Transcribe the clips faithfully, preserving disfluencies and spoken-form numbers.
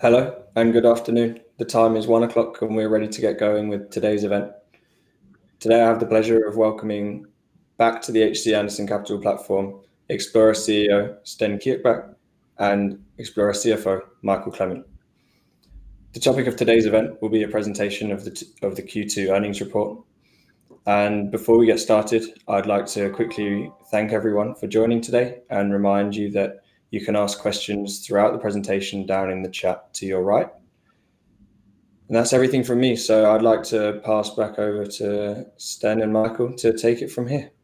Hello and good afternoon. The time is one o'clock and we're ready to get going with today's event. Today I have the pleasure of welcoming back to the H C Andersen Capital platform, Xplora C E O Sten Kirkbak and Xplora C F O Michael Clement. The topic of today's event will be a presentation of the, t of the Q two earnings report. And before we get started, I'd like to quickly thank everyone for joining today and remind you that you can ask questions throughout the presentation down in the chat to your right. And that's everything from me. So I'd like to pass back over to Sten and Michael to take it from here.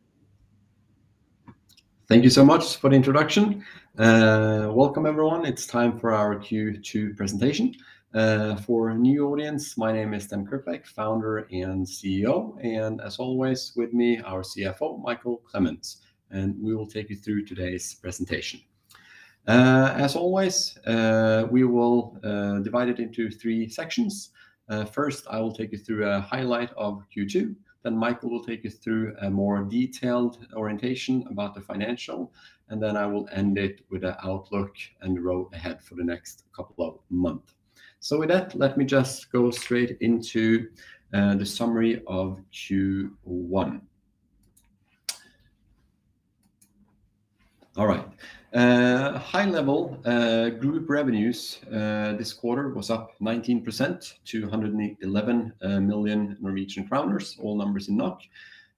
Thank you so much for the introduction. Uh, welcome everyone. It's time for our Q two presentation. Uh, for a new audience, my name is Sten Kirkbak, founder and C E O. And as always, with me, our C F O, Michael Clement. And we will take you through today's presentation. Uh, as always, uh, we will uh, divide it into three sections. Uh, first, I will take you through a highlight of Q two. Then Michael will take you through a more detailed orientation about the financial. And then I will end it with an outlook and the road ahead for the next couple of months. So with that, let me just go straight into uh, the summary of Q one. All right. Uh, high level uh, group revenues uh, this quarter was up nineteen percent to one hundred eleven uh, million Norwegian kroners, all numbers in N O K.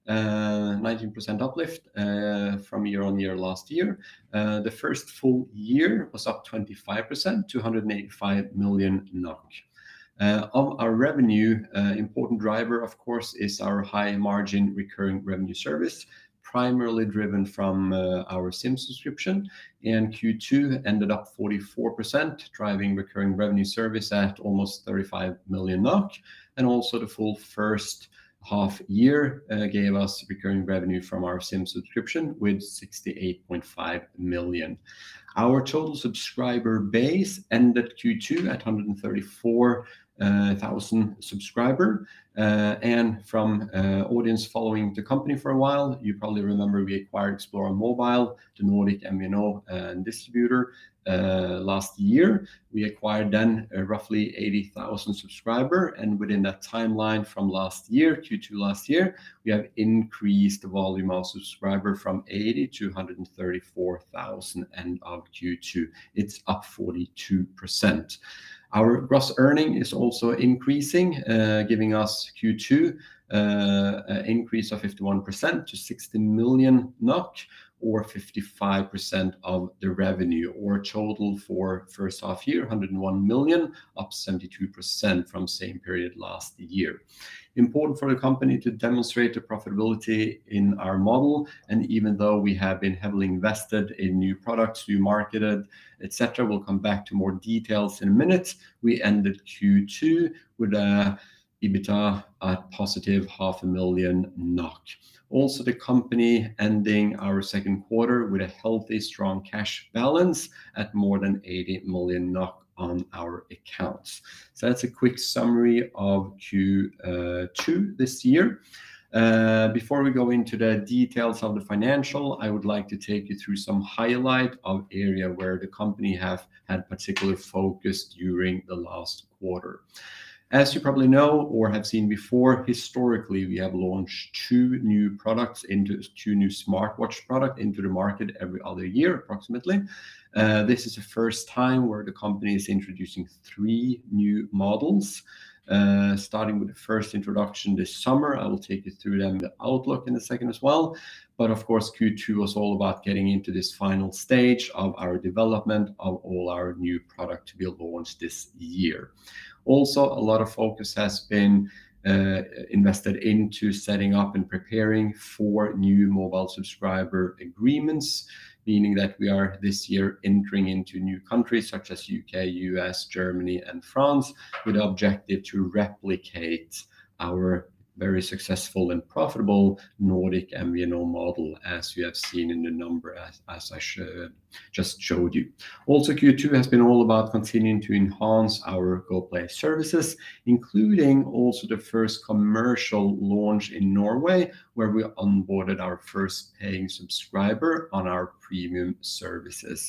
Uh, nineteen percent uplift uh, from year on year last year. Uh, the first full year was up twenty-five percent to one hundred eighty-five million N O K. Uh, of our revenue, uh, important driver, of course, is our high margin recurring revenue service, primarily driven from uh, our SIM subscription, and Q two ended up forty-four percent, driving recurring revenue service at almost thirty-five million N O K, and also the full first half year uh, gave us recurring revenue from our SIM subscription with sixty-eight point five million. Our total subscriber base ended Q two at one hundred thirty-four thousand uh, subscriber. Uh, and from uh, audience following the company for a while, you probably remember we acquired Xplora Mobile, the Nordic M V N O uh, distributor, uh, last year. We acquired then uh, roughly eighty thousand subscriber, and within that timeline from last year, Q two last year, we have increased the volume of subscriber from eighty to one hundred thirty-four thousand end of Q two. It's up forty-two percent. Our gross earning is also increasing, uh, giving us Q two uh, an increase of fifty-one percent to sixty million N O K, or fifty-five percent of the revenue, or total for first half year, one hundred one million, up seventy-two percent from same period last year. Important for the company to demonstrate the profitability in our model, and even though we have been heavily invested in new products, new marketed, et cetera, we'll come back to more details in a minute. We ended Q two with a EBITDA at positive half a million N O K. Also, the company ending our second quarter with a healthy, strong cash balance at more than eighty million N O K on our accounts. So that's a quick summary of Q two this year. Uh, before we go into the details of the financial, I would like to take you through some highlight of area where the company have had particular focus during the last quarter. As you probably know or have seen before, historically we have launched two new products into two new smartwatch product into the market every other year approximately. Uh, this is the first time where the company is introducing three new models. Uh, starting with the first introduction this summer. I will take you through them, the outlook in a second as well. But of course, Q two was all about getting into this final stage of our development of all our new product to be launched this year. Also, a lot of focus has been uh, invested into setting up and preparing for new mobile subscriber agreements, meaning that we are this year entering into new countries such as U K, U S, Germany, and France, with the objective to replicate our very successful and profitable Nordic M V N O model, as you have seen in the number as, as I sh just showed you. Also, Q two has been all about continuing to enhance our GoPlay services, including also the first commercial launch in Norway, where we onboarded our first paying subscriber on our premium services.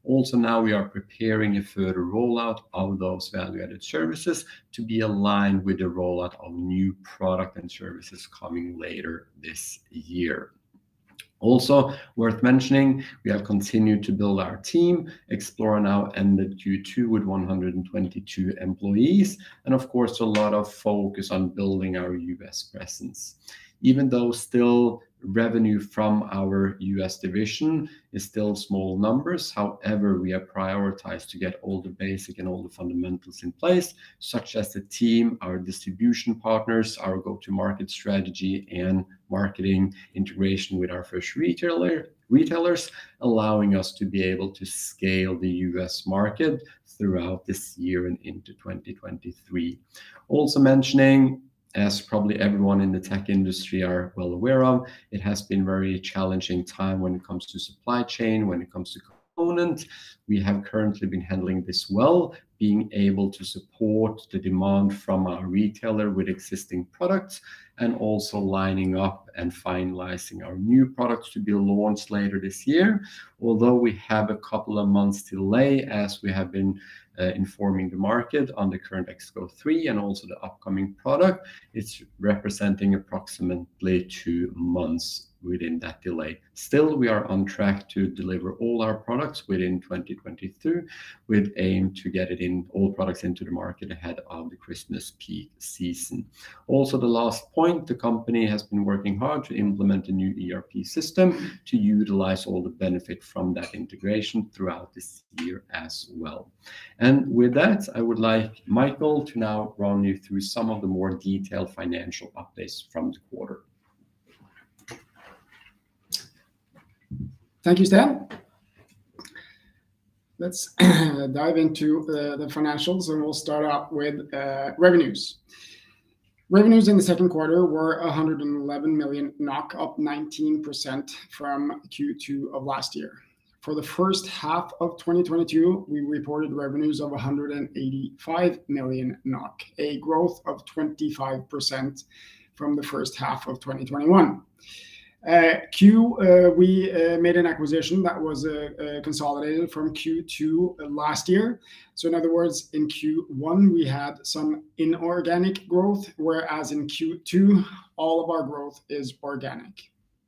Also now we are preparing a further rollout of those value-added services to be aligned with the rollout of new product and services coming later this year. Also worth mentioning, we have continued to build our team. Xplora now ended Q two with one hundred twenty-two employees, and of course a lot of focus on building our U S presence. Even though still revenue from our U S division is still small numbers, however, we have prioritized to get all the basic and all the fundamentals in place, such as the team, our distribution partners, our go-to-market strategy, and marketing integration with our first retailer, retailers, allowing us to be able to scale the U S market throughout this year and into twenty twenty-three. Also mentioning, as probably everyone in the tech industry are well aware of, it has been very challenging time when it comes to supply chain, when it comes to component. We have currently been handling this well, being able to support the demand from our retailer with existing products, and also lining up and finalizing our new products to be launched later this year. Although we have a couple of months delay, as we have been uh, informing the market on the current X Go three and also the upcoming product, it's representing approximately two months within that delay. Still, we are on track to deliver all our products within twenty twenty-two, with aim to get it in all products into the market ahead of the Christmas peak season. Also, the last point, the company has been working hard to implement a new E R P system to utilize all the benefit from that integration throughout this year as well. And with that, I would like Michael to now run you through some of the more detailed financial updates from the quarter. Thank you, Sten. Let's dive into uh, the financials, and we'll start out with uh, revenues. Revenues in the second quarter were one hundred eleven million NOK, up nineteen percent from Q two of last year. For the first half of twenty twenty-two, we reported revenues of one hundred eighty-five million NOK, a growth of twenty-five percent from the first half of twenty twenty-one. Uh, Q, uh, we uh, made an acquisition that was uh, uh, consolidated from Q two last year. So in other words, in Q one, we had some inorganic growth, whereas in Q two, all of our growth is organic.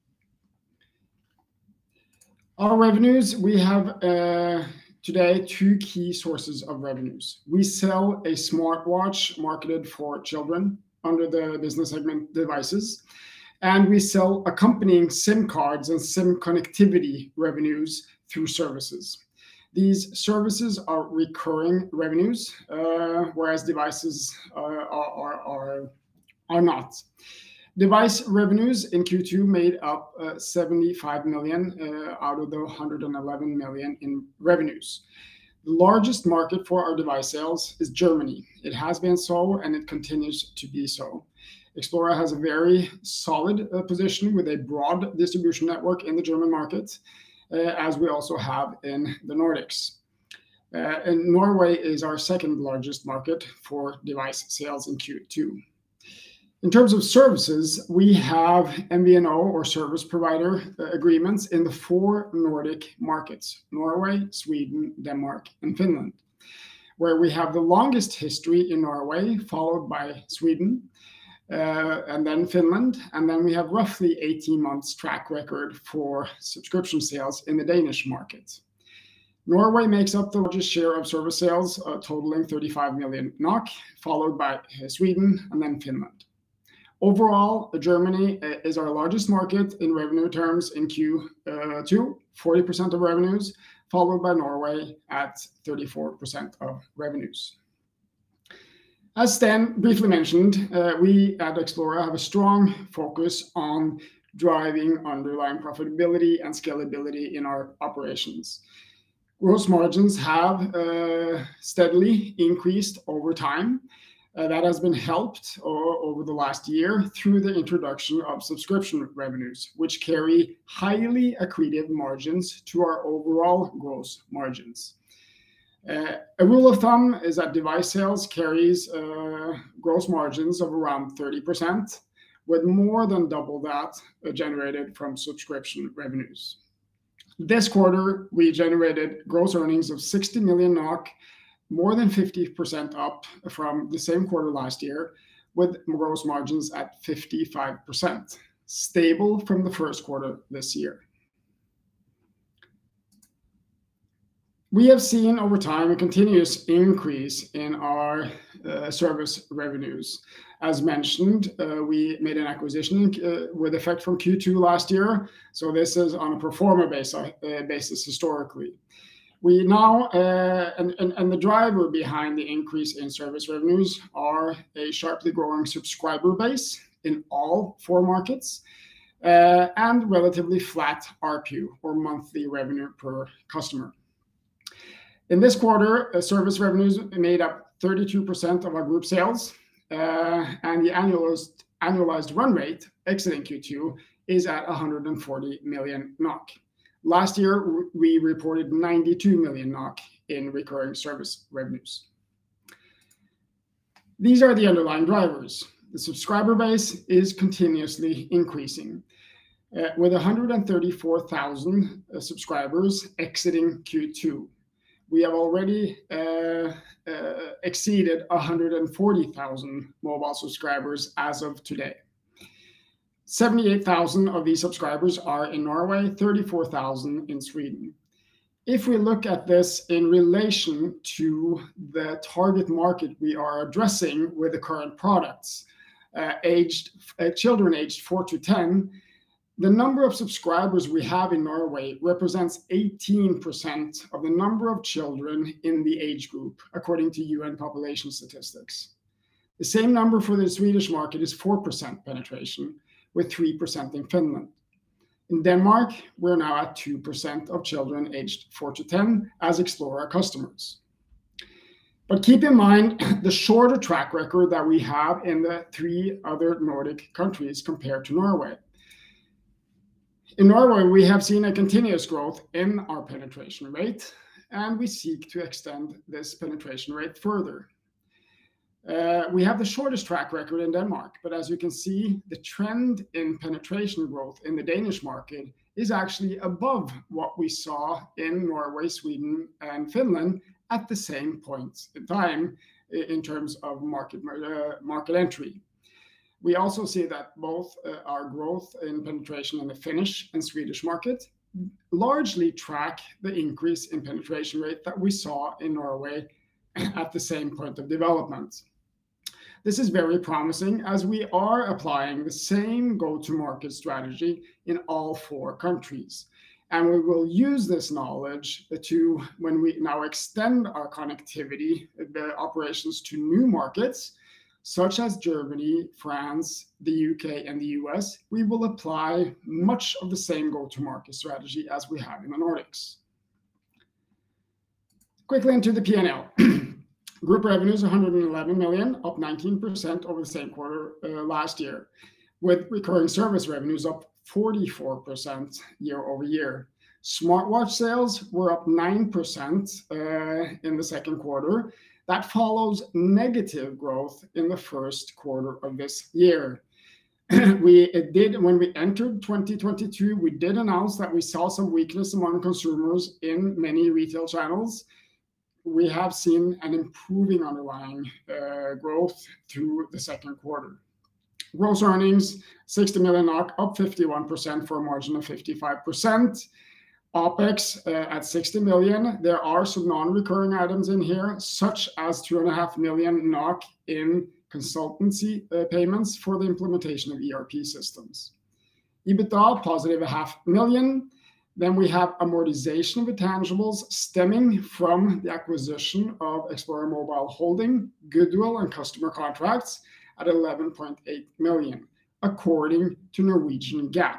Our revenues, we have uh, today two key sources of revenues. We sell a smartwatch marketed for children under the business segment devices, and we sell accompanying SIM cards and SIM connectivity revenues through services. These services are recurring revenues, uh, whereas devices uh, are, are, are not. Device revenues in Q two made up uh, seventy-five million uh, out of the one hundred eleven million in revenues. The largest market for our device sales is Germany. It has been so, and it continues to be so. Xplora has a very solid uh, position with a broad distribution network in the German market, uh, as we also have in the Nordics. Uh, and Norway is our second largest market for device sales in Q two. In terms of services, we have M V N O or service provider uh, agreements in the four Nordic markets: Norway, Sweden, Denmark, and Finland, where we have the longest history in Norway, followed by Sweden, Uh, and then Finland, and then we have roughly eighteen months track record for subscription sales in the Danish market. Norway makes up the largest share of service sales, uh, totaling thirty-five million NOK, followed by uh, Sweden and then Finland. Overall, Germany uh, is our largest market in revenue terms in Q two, forty percent of revenues, followed by Norway at thirty-four percent of revenues. As Sten briefly mentioned, uh, we at Xplora have a strong focus on driving underlying profitability and scalability in our operations. Gross margins have uh, steadily increased over time. Uh, that has been helped uh, over the last year through the introduction of subscription revenues, which carry highly accretive margins to our overall gross margins. Uh, a rule of thumb is that device sales carries uh, gross margins of around thirty percent, with more than double that uh, generated from subscription revenues. This quarter, we generated gross earnings of sixty million NOK, more than fifty percent up from the same quarter last year, with gross margins at fifty-five percent, stable from the first quarter this year. We have seen over time a continuous increase in our uh, service revenues. As mentioned, uh, we made an acquisition uh, with effect from Q two last year, so this is on a pro forma basis, uh, basis historically. We now, uh, and, and, and the driver behind the increase in service revenues are a sharply growing subscriber base in all four markets, uh, and relatively flat A R P U, or monthly revenue per customer. In this quarter, uh, service revenues made up thirty-two percent of our group sales, uh, and the annualized, annualized run rate exiting Q two is at one hundred forty million NOK. Last year, we reported ninety-two million NOK in recurring service revenues. These are the underlying drivers. The subscriber base is continuously increasing, uh, with one hundred thirty-four thousand uh, subscribers exiting Q two. We have already uh, uh, exceeded one hundred forty thousand mobile subscribers as of today. seventy-eight thousand of these subscribers are in Norway, thirty-four thousand in Sweden. If we look at this in relation to the target market we are addressing with the current products, uh, aged uh, children aged four to ten, the number of subscribers we have in Norway represents eighteen percent of the number of children in the age group, according to U N population statistics. The same number for the Swedish market is four percent penetration, with three percent in Finland. In Denmark, we're now at two percent of children aged four to ten as Xplora customers. But keep in mind the shorter track record that we have in the three other Nordic countries compared to Norway. In Norway, we have seen a continuous growth in our penetration rate, and we seek to extend this penetration rate further. Uh, we have the shortest track record in Denmark, but as you can see, the trend in penetration growth in the Danish market is actually above what we saw in Norway, Sweden, and Finland at the same point in time in terms of market, uh, market entry. We also see that both uh, our growth in penetration in the Finnish and Swedish market largely track the increase in penetration rate that we saw in Norway at the same point of development. This is very promising as we are applying the same go-to-market strategy in all four countries. And we will use this knowledge to, when we now extend our connectivity, the operations to new markets, such as Germany, France, the U K, and the U S, we will apply much of the same go-to-market strategy as we have in the Nordics. Quickly into the P and L. Group revenues one hundred eleven million, up nineteen percent over the same quarter uh, last year, with recurring service revenues up forty-four percent year over year. Smartwatch sales were up nine percent uh, in the second quarter. That follows negative growth in the first quarter of this year. we it did when we entered twenty twenty-two, we did announce that we saw some weakness among consumers in many retail channels. We have seen an improving underlying uh, growth through the second quarter. Gross earnings, sixty million NOK, up fifty-one percent for a margin of fifty-five percent. OpEx uh, at sixty million. There are some non-recurring items in here, such as two and a half million NOK in consultancy uh, payments for the implementation of E R P systems. EBITDA, positive a half million. Then we have amortization of intangibles stemming from the acquisition of Xplora Mobile Holding, goodwill and customer contracts at eleven point eight million, according to Norwegian GAAP.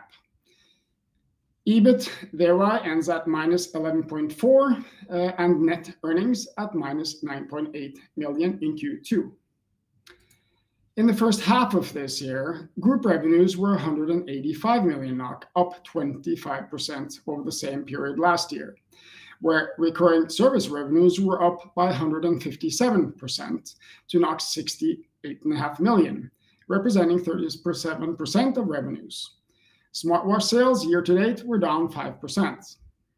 EBIT thereby ends at minus eleven point four uh, and net earnings at minus nine point eight million in Q two. In the first half of this year, group revenues were one hundred eighty-five million NOK, up twenty-five percent over the same period last year, where recurring service revenues were up by one hundred fifty-seven percent to sixty-eight point five million, representing thirty-seven percent of revenues. Smartwatch sales year to date were down five percent.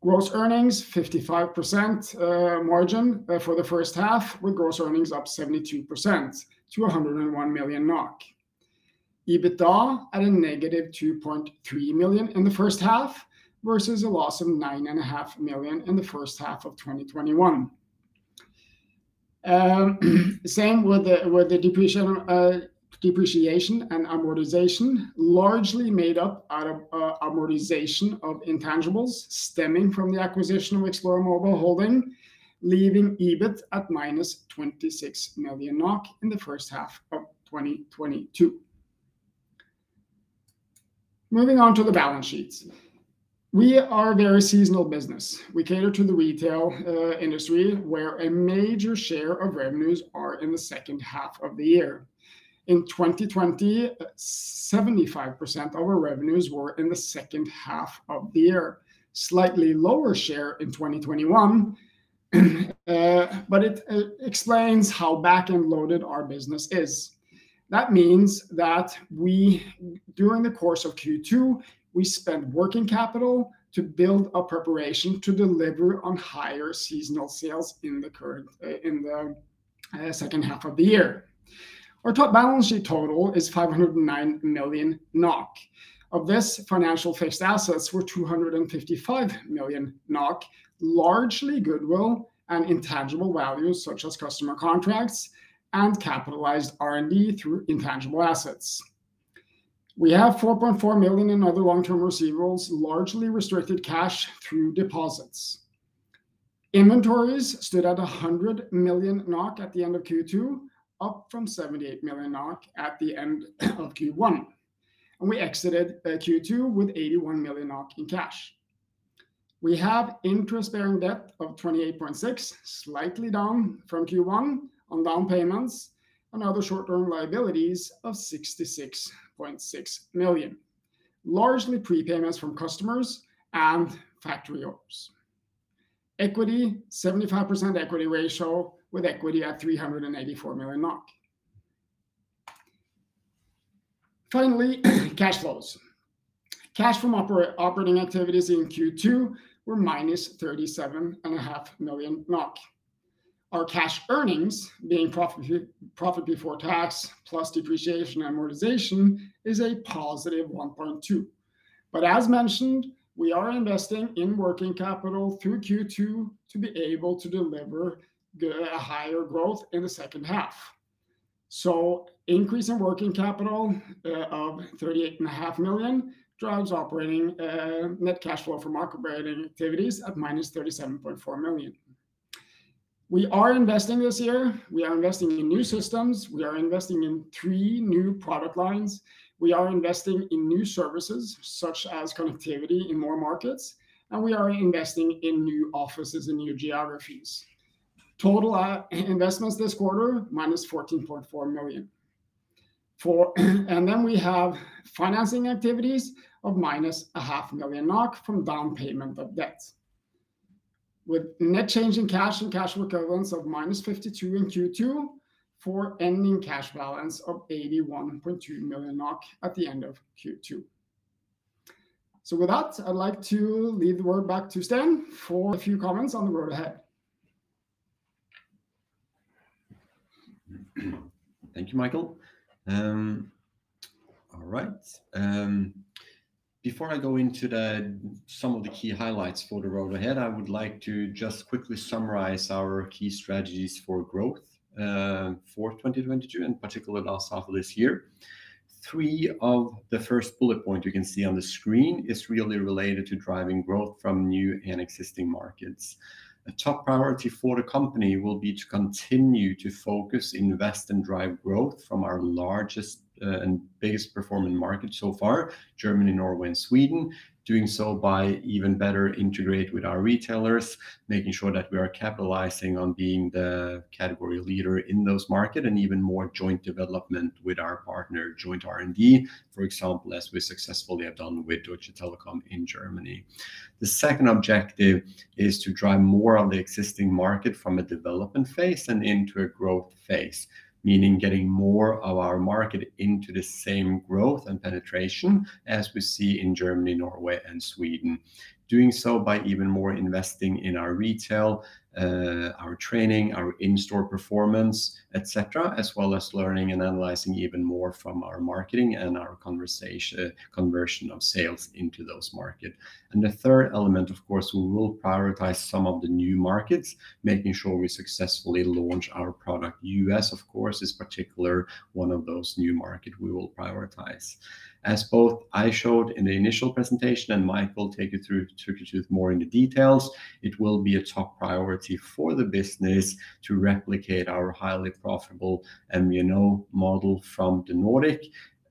Gross earnings, fifty-five percent uh, margin uh, for the first half, with gross earnings up seventy-two percent to one hundred one million NOK. EBITDA at a negative two point three million in the first half versus a loss of nine point five million in the first half of twenty twenty-one. Um, same with the, with the depreciation, uh, depreciation and amortization, largely made up out of uh, amortization of intangibles stemming from the acquisition of Xplora Mobile Holding, leaving EBIT at minus twenty-six million NOK in the first half of twenty twenty-two. Moving on to the balance sheets. We are a very seasonal business. We cater to the retail uh, industry, where a major share of revenues are in the second half of the year. In twenty twenty, seventy-five percent of our revenues were in the second half of the year. Slightly lower share in twenty twenty-one, uh, but it uh, explains how back-end loaded our business is. That means that we, during the course of Q two, we spent working capital to build a preparation to deliver on higher seasonal sales in the current uh, in the uh, second half of the year. Our top balance sheet total is five hundred nine million NOK. Of this, financial fixed assets were two hundred fifty-five million NOK, largely goodwill and intangible values such as customer contracts and capitalized R and D through intangible assets. We have four point four million in other long-term receivables, largely restricted cash through deposits. Inventories stood at one hundred million NOK at the end of Q two, up from seventy-eight million NOK at the end of Q one. And we exited uh, Q two with eighty-one million NOK in cash. We have interest-bearing debt of twenty-eight point six, slightly down from Q one on down payments, and other short-term liabilities of sixty-six point six million, largely prepayments from customers and factory orders. Equity, seventy-five percent equity ratio, with equity at three hundred eighty-four million NOK. Finally, cash flows. Cash from oper operating activities in Q two were minus thirty-seven point five million NOK. Our cash earnings, being profit, profit before tax plus depreciation and amortization, is a positive one point two. But as mentioned, we are investing in working capital through Q two to be able to deliver a higher growth in the second half. So increase in working capital uh, of thirty-eight point five million drives operating uh, net cash flow from operating activities at minus thirty-seven point four million. We are investing this year. We are investing in new systems. We are investing in three new product lines. We are investing in new services, such as connectivity in more markets. And we are investing in new offices and new geographies. Total uh, investments this quarter, minus fourteen point four million. For, and then we have financing activities of minus a half million NOK from down payment of debt, with net change in cash and cash equivalents of minus fifty-two in Q two, for ending cash balance of eighty-one point two million NOK at the end of Q two. So with that, I'd like to leave the word back to Sten for a few comments on the road ahead. Thank you, Michael. Um, all right. Um, Before I go into the, some of the key highlights for the road ahead, I would like to just quickly summarize our key strategies for growth uh, for twenty twenty-two, in particular last half of this year. Three of the first bullet point you can see on the screen is really related to driving growth from new and existing markets. A top priority for the company will be to continue to focus, invest, and drive growth from our largest Uh, and biggest performing market so far, Germany, Norway, and Sweden, doing so by even better integrate with our retailers, making sure that we are capitalizing on being the category leader in those markets, and even more joint development with our partner, joint R and D, for example, as we successfully have done with Deutsche Telekom in Germany. The second objective is to drive more of the existing market from a development phase and into a growth phase, meaning getting more of our market into the same growth and penetration as we see in Germany, Norway, and Sweden. doing so by even more investing in our retail, uh, our training, our in-store performance, et cetera, as well as learning and analyzing even more from our marketing and our conversation conversion of sales into those markets. And the third element, of course, we will prioritize some of the new markets, making sure we successfully launch our product. U S, of course, is particular one of those new markets we will prioritize. As both I showed in the initial presentation and Michael take you through, took you through more in the details, it will be a top priority for the business to replicate our highly profitable M V N O model from the Nordic,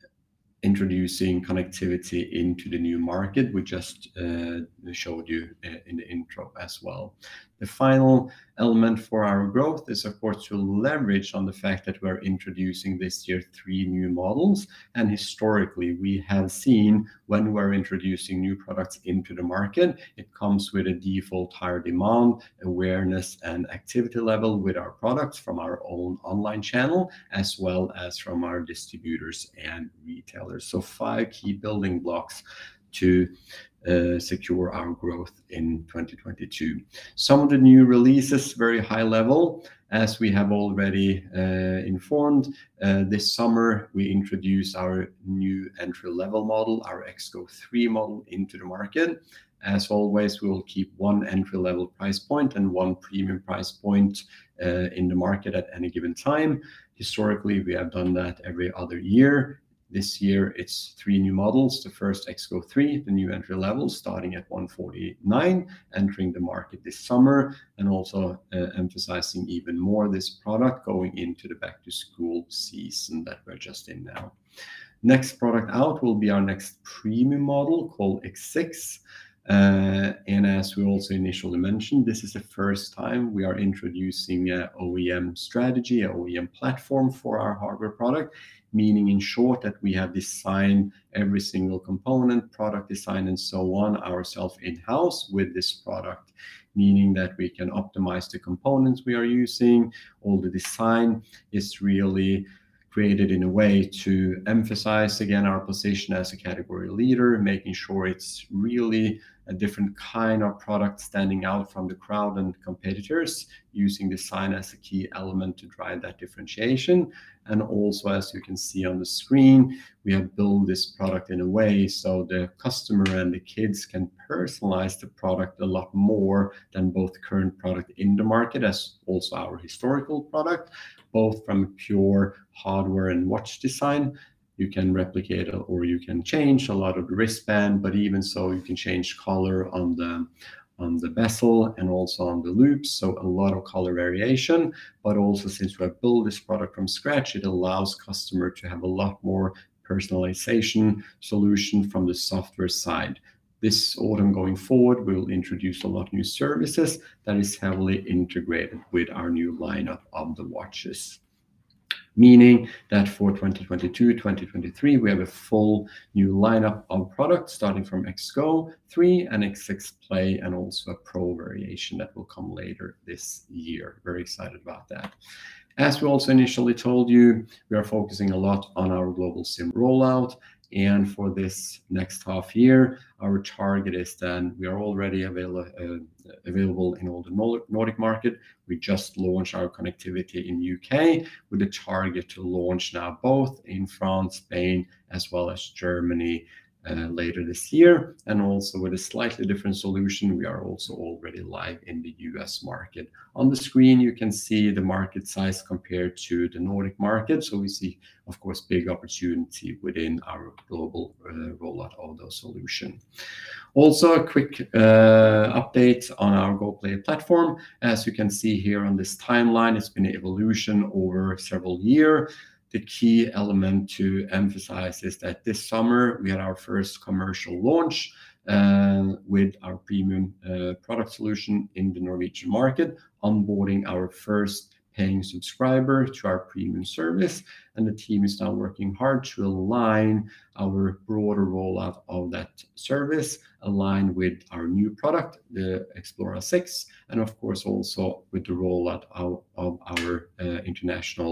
introducing connectivity into the new market we just uh, showed you in the intro as well. The final element for our growth is, of course, to leverage on the fact that we're introducing this year three new models. And historically, we have seen when we're introducing new products into the market, it comes with a default higher demand, awareness, and activity level with our products from our own online channel, as well as from our distributors and retailers. So five key building blocks to uh, secure our growth in twenty twenty-two. Some of the new releases, very high level, as we have already uh, informed. Uh, this summer, we introduced our new entry-level model, our X Go three model, into the market. As always, we will keep one entry-level price point and one premium price point uh, in the market at any given time. Historically, we have done that every other year. This year, it's three new models. The first X Go three, the new entry level, starting at one forty-nine, entering the market this summer, and also uh, emphasizing even more this product going into the back-to-school season that we're just in now. Next product out will be our next premium model called X six. Uh, and as we also initially mentioned, this is the first time we are introducing an O E M strategy, an O E M platform for our hardware product, meaning in short that we have designed every single component, product design, and so on ourselves in-house with this product, meaning that we can optimize the components we are using. All the design is really created in a way to emphasize again our position as a category leader, making sure it's really a different kind of product standing out from the crowd and competitors, using design as a key element to drive that differentiation. And also, as you can see on the screen, we have built this product in a way so the customer and the kids can personalize the product a lot more than both current product in the market as also our historical product, both from pure hardware and watch design. You can replicate or you can change a lot of the wristband, but even so, you can change color on the on the bezel and also on the loops. So a lot of color variation, but also since we have built this product from scratch, it allows customer to have a lot more personalization solution from the software side. This autumn going forward, we will introduce a lot of new services that is heavily integrated with our new lineup of the watches. Meaning that for twenty twenty-two, twenty twenty-three, we have a full new lineup of products starting from X Go three and X six Play, and also a Pro variation that will come later this year. Very excited about that. As we also initially told you, we are focusing a lot on our global SIM rollout. And for this next half year, our target is then we are already avail uh, available in all the Nordic market. We just launched our connectivity in U K with a target to launch now both in France, Spain, as well as Germany uh, later this year. And also with a slightly different solution, we are also already live in the U S market. On the screen, you can see the market size compared to the Nordic market. So we see, of course, big opportunity within our global uh, rollout of those solutions. Also, a quick uh, update on our GoPlay platform. As you can see here on this timeline, it's been an evolution over several years. The key element to emphasize is that this summer we had our first commercial launch uh, with our premium uh, product solution in the Norwegian market, onboarding our first paying subscriber to our premium service. And the team is now working hard to align our broader rollout of that service, aligned with our new product, the Xplora six, and of course also with the rollout of, of our uh, international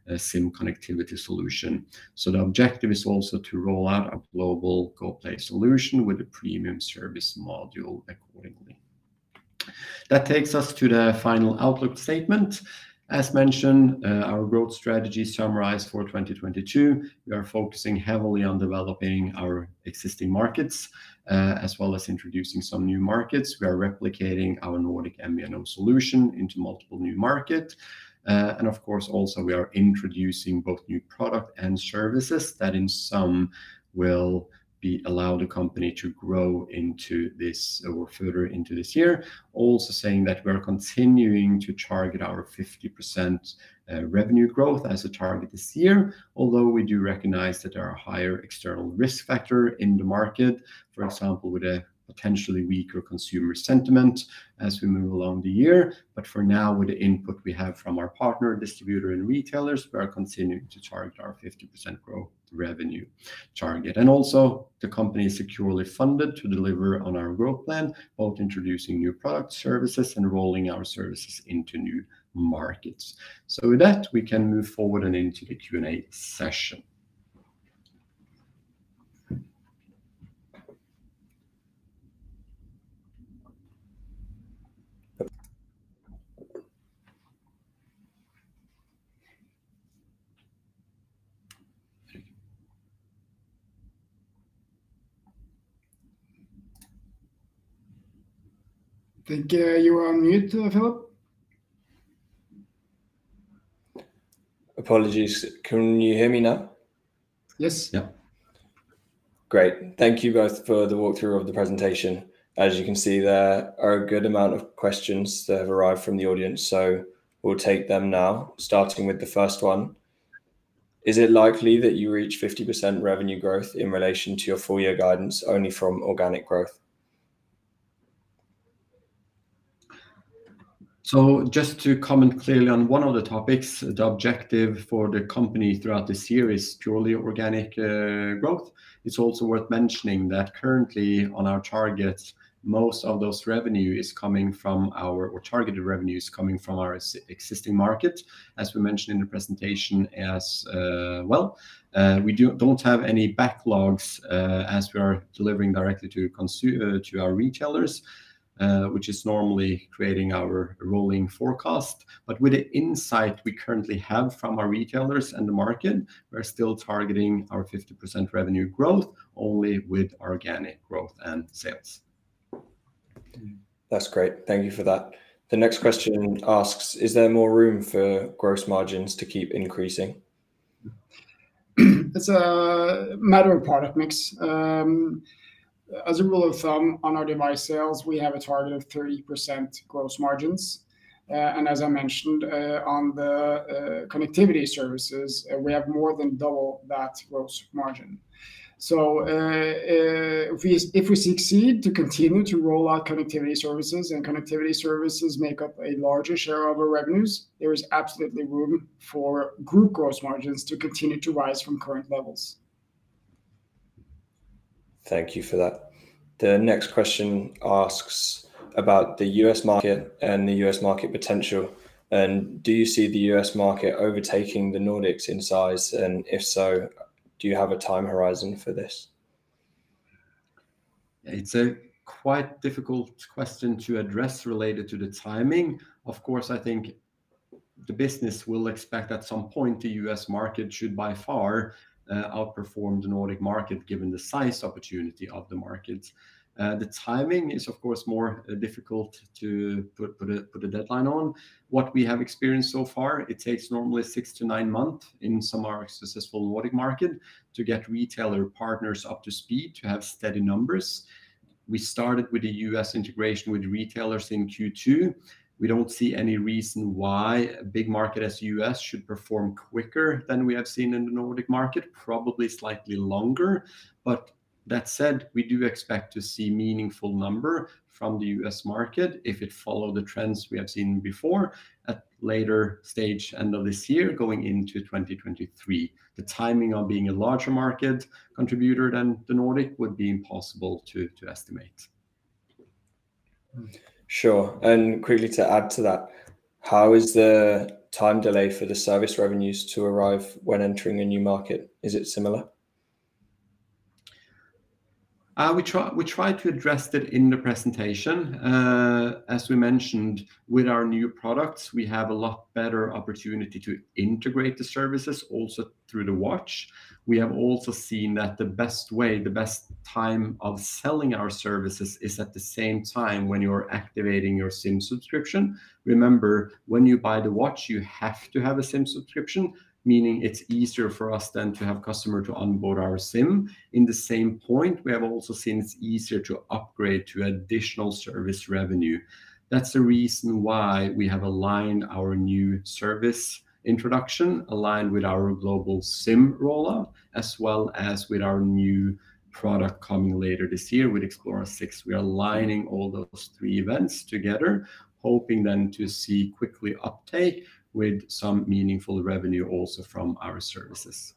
uh, SIM connectivity solution. So the objective is also to roll out a global GoPlay solution with a premium service module accordingly. That takes us to the final outlook statement. As mentioned, uh, our growth strategy summarized for twenty twenty-two, we are focusing heavily on developing our existing markets, uh, as well as introducing some new markets. We are replicating our Nordic M V N O solution into multiple new markets. Uh, and of course, also we are introducing both new product and services that in some will be allow the company to grow into this or further into this year. Also saying that we're continuing to target our fifty percent uh, revenue growth as a target this year, although we do recognize that there are higher external risk factor in the market, for example, with a potentially weaker consumer sentiment as we move along the year. But for now, with the input we have from our partner, distributor, and retailers, we are continuing to target our fifty percent growth revenue target. And also, the company is securely funded to deliver on our growth plan, both introducing new products, services, and rolling our services into new markets. So with that, we can move forward and into the Q and A session. I think uh, you are on mute, uh, Philip. Apologies. Can you hear me now? Yes. Yeah. Great. Thank you both for the walkthrough of the presentation. As you can see, there are a good amount of questions that have arrived from the audience, so we'll take them now, starting with the first one. Is it likely that you reach fifty percent revenue growth in relation to your full year guidance only from organic growth? So just to comment clearly on one of the topics, the objective for the company throughout this year is purely organic uh, growth. It's also worth mentioning that currently on our targets, most of those revenue is coming from our, or targeted revenue is coming from our existing market, as we mentioned in the presentation as uh, well. Uh, we do, don't have any backlogs uh, as we are delivering directly to, consu- uh, to our retailers. Uh, which is normally creating our rolling forecast. But with the insight we currently have from our retailers and the market, we're still targeting our fifty percent revenue growth only with organic growth and sales. That's great. Thank you for that. The next question asks, is there more room for gross margins to keep increasing? It's a matter of product mix. Um, As a rule of thumb, on our device sales, we have a target of thirty percent gross margins. Uh, and as I mentioned, uh, on the uh, connectivity services, uh, we have more than double that gross margin. So uh, uh, if, we, if we succeed to continue to roll out connectivity services, and connectivity services make up a larger share of our revenues, there is absolutely room for group gross margins to continue to rise from current levels. Thank you for that. The next question asks about the U S market and the U S market potential. And do you see the U S market overtaking the Nordics in size? And if so, do you have a time horizon for this? It's a quite difficult question to address related to the timing. Of course, I think the business will expect at some point the U S market should by far Uh, outperform the Nordic market given the size opportunity of the market. Uh, the timing is of course more uh, difficult to put, put, a, put a deadline on. What we have experienced so far, it takes normally six to nine months in some of our successful Nordic market to get retailer partners up to speed to have steady numbers. We started with the U S integration with retailers in Q two. We don't see any reason why a big market as U S should perform quicker than we have seen in the Nordic market, probably slightly longer. But that said, we do expect to see meaningful number from the U S market if it follow the trends we have seen before at later stage end of this year going into twenty twenty-three. The timing of being a larger market contributor than the Nordic would be impossible to, to estimate. Sure. And quickly to add to that, how is the time delay for the service revenues to arrive when entering a new market? Is it similar? Uh, we try we try to address that in the presentation. Uh, as we mentioned, with our new products, we have a lot better opportunity to integrate the services also through the watch. We have also seen that the best way, the best time of selling our services is at the same time when you're activating your SIM subscription. Remember, when you buy the watch, you have to have a SIM subscription, meaning it's easier for us then to have customer to onboard our SIM. In the same point, we have also seen it's easier to upgrade to additional service revenue. That's the reason why we have aligned our new service introduction, aligned with our global SIM rollout, as well as with our new product coming later this year with Xplora six. We are aligning all those three events together, hoping then to see quickly uptake with some meaningful revenue also from our services.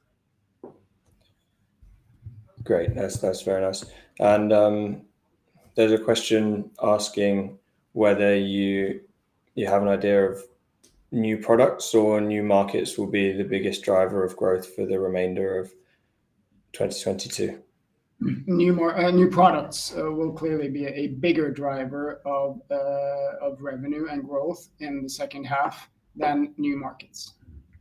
Great, that's that's very nice. And um, there's a question asking whether you you have an idea of new products or new markets will be the biggest driver of growth for the remainder of twenty twenty-two. New more uh, new products uh, will clearly be a, a bigger driver of uh, of revenue and growth in the second half than new markets.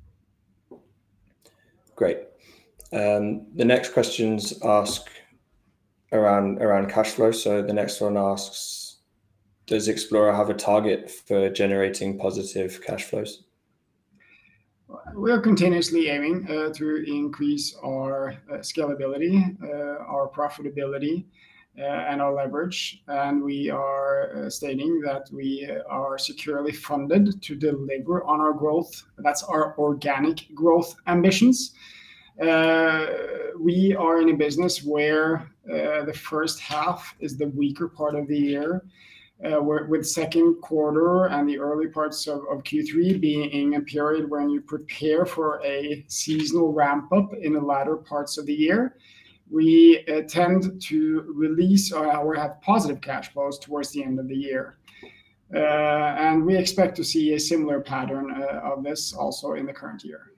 Great. Um, the next questions ask around around cash flow. So the next one asks, does Xplora have a target for generating positive cash flows? We are continuously aiming uh, to increase our uh, scalability, uh, our profitability, uh, and our leverage. And we are uh, stating that we are securely funded to deliver on our growth. That's our organic growth ambitions. Uh, we are in a business where uh, the first half is the weaker part of the year. Uh, with second quarter and the early parts of, of Q three being a period when you prepare for a seasonal ramp up in the latter parts of the year, we uh, tend to release or, or have positive cash flows towards the end of the year. Uh, and we expect to see a similar pattern uh, of this also in the current year.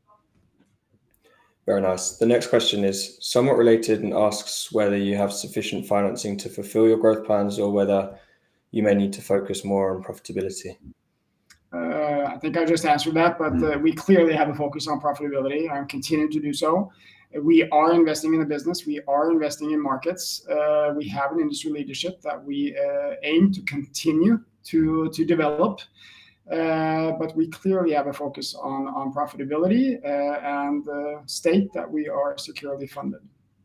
Very nice. The next question is somewhat related and asks whether you have sufficient financing to fulfill your growth plans or whether you may need to focus more on profitability. Uh, I think I just answered that, but uh, we clearly have a focus on profitability and continue to do so. We are investing in the business. We are investing in markets. Uh, we have an industry leadership that we uh, aim to continue to, to develop. Uh, but we clearly have a focus on, on profitability uh, and uh, state that we are securely funded.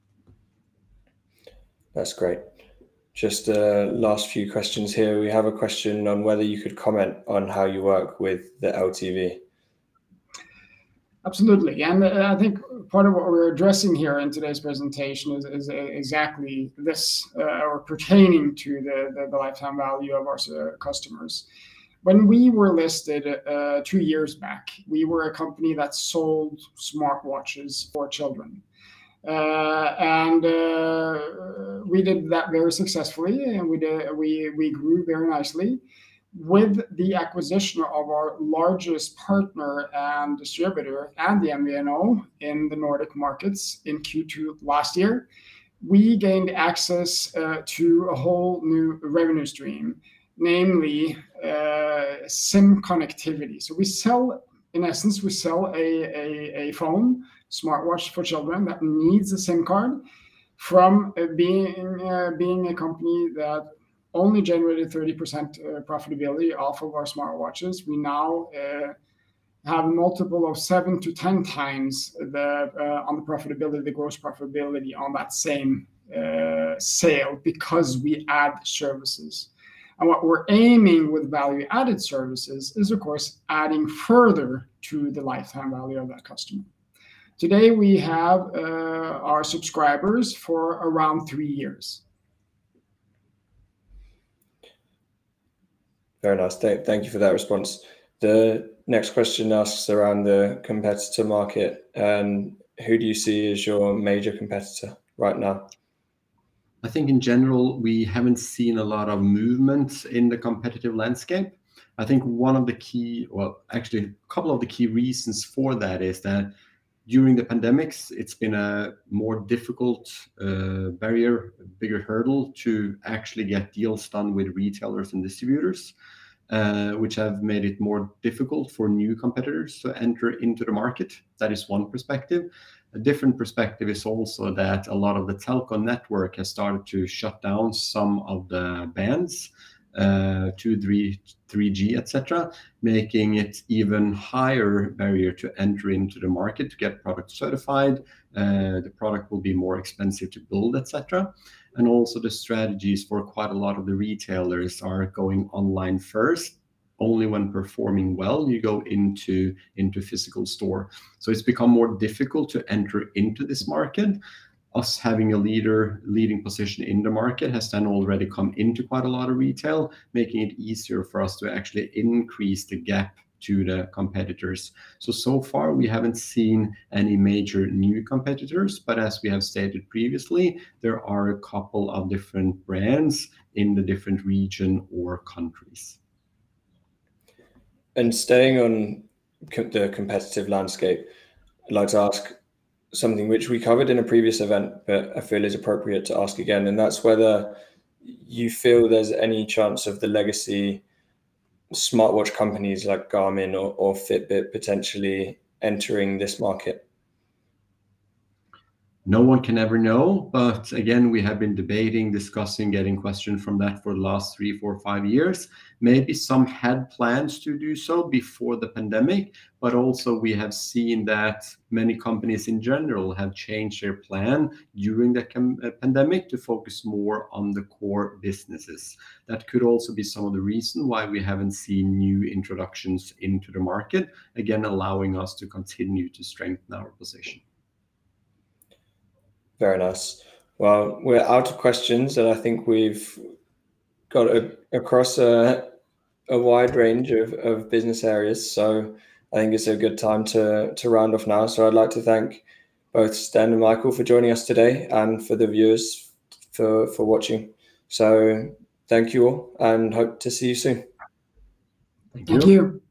That's great. Just uh, last few questions here. We have a question on whether you could comment on how you work with the L T V. Absolutely. And uh, I think part of what we're addressing here in today's presentation is, is exactly this, uh, or pertaining to the, the, the lifetime value of our uh, customers. When we were listed uh, two years back, we were a company that sold smartwatches for children. Uh, and uh, we did that very successfully, and we did, we we grew very nicely. With the acquisition of our largest partner and distributor and the M V N O in the Nordic markets in Q two last year, we gained access uh, to a whole new revenue stream, namely uh, SIM connectivity. So we sell, in essence, we sell a, a, a phone, smartwatch for children that needs a SIM card, from uh, being uh, being a company that only generated thirty percent uh, profitability off of our smartwatches. We now uh, have a multiple of seven to ten times the uh, on the profitability, the gross profitability on that same uh, sale, because we add services. And what we're aiming with value-added services is, of course, adding further to the lifetime value of that customer. Today, we have uh, our subscribers for around three years. Very nice. Thank, thank you for that response. The next question asks around the competitor market, and who do you see as your major competitor right now? I think in general, we haven't seen a lot of movement in the competitive landscape. I think one of the key, well, actually a couple of the key reasons for that is that during the pandemics, it's been a more difficult uh, barrier, a bigger hurdle to actually get deals done with retailers and distributors, uh, which have made it more difficult for new competitors to enter into the market. That is one perspective. A different perspective is also that a lot of the telco network has started to shut down some of the bands, uh, two, three, three G, et cetera, making it even higher barrier to enter into the market to get product certified. Uh, the product will be more expensive to build, et cetera. And also the strategies for quite a lot of the retailers are going online first. Only when performing well, you go into, into physical store. So it's become more difficult to enter into this market. Us having a leader leading position in the market has then already come into quite a lot of retail, making it easier for us to actually increase the gap to the competitors. So, so far we haven't seen any major new competitors, but as we have stated previously, there are a couple of different brands in the different region or countries. And staying on co- the competitive landscape, I'd like to ask something which we covered in a previous event, but I feel is appropriate to ask again, and that's whether you feel there's any chance of the legacy smartwatch companies like Garmin or, or Fitbit potentially entering this market. No one can ever know, but again, we have been debating, discussing, getting questions from that for the last three, four, five years. Maybe some had plans to do so before the pandemic, but also we have seen that many companies in general have changed their plan during the pandemic to focus more on the core businesses. That could also be some of the reason why we haven't seen new introductions into the market, again, allowing us to continue to strengthen our position. Very nice. Well, we're out of questions, and I think we've got a, across a, a wide range of, of business areas. So I think it's a good time to, to round off now. So I'd like to thank both Sten and Michael for joining us today, and for the viewers for, for watching. So thank you all, and hope to see you soon. Thank you. Thank you.